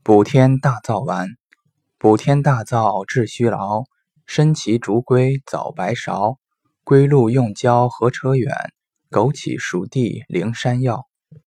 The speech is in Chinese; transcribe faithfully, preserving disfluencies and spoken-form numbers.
补天大灶丸。补天大灶治虚劳，参芪竹归早白芍，归鹿用胶何扯远，枸杞熟地灵山药。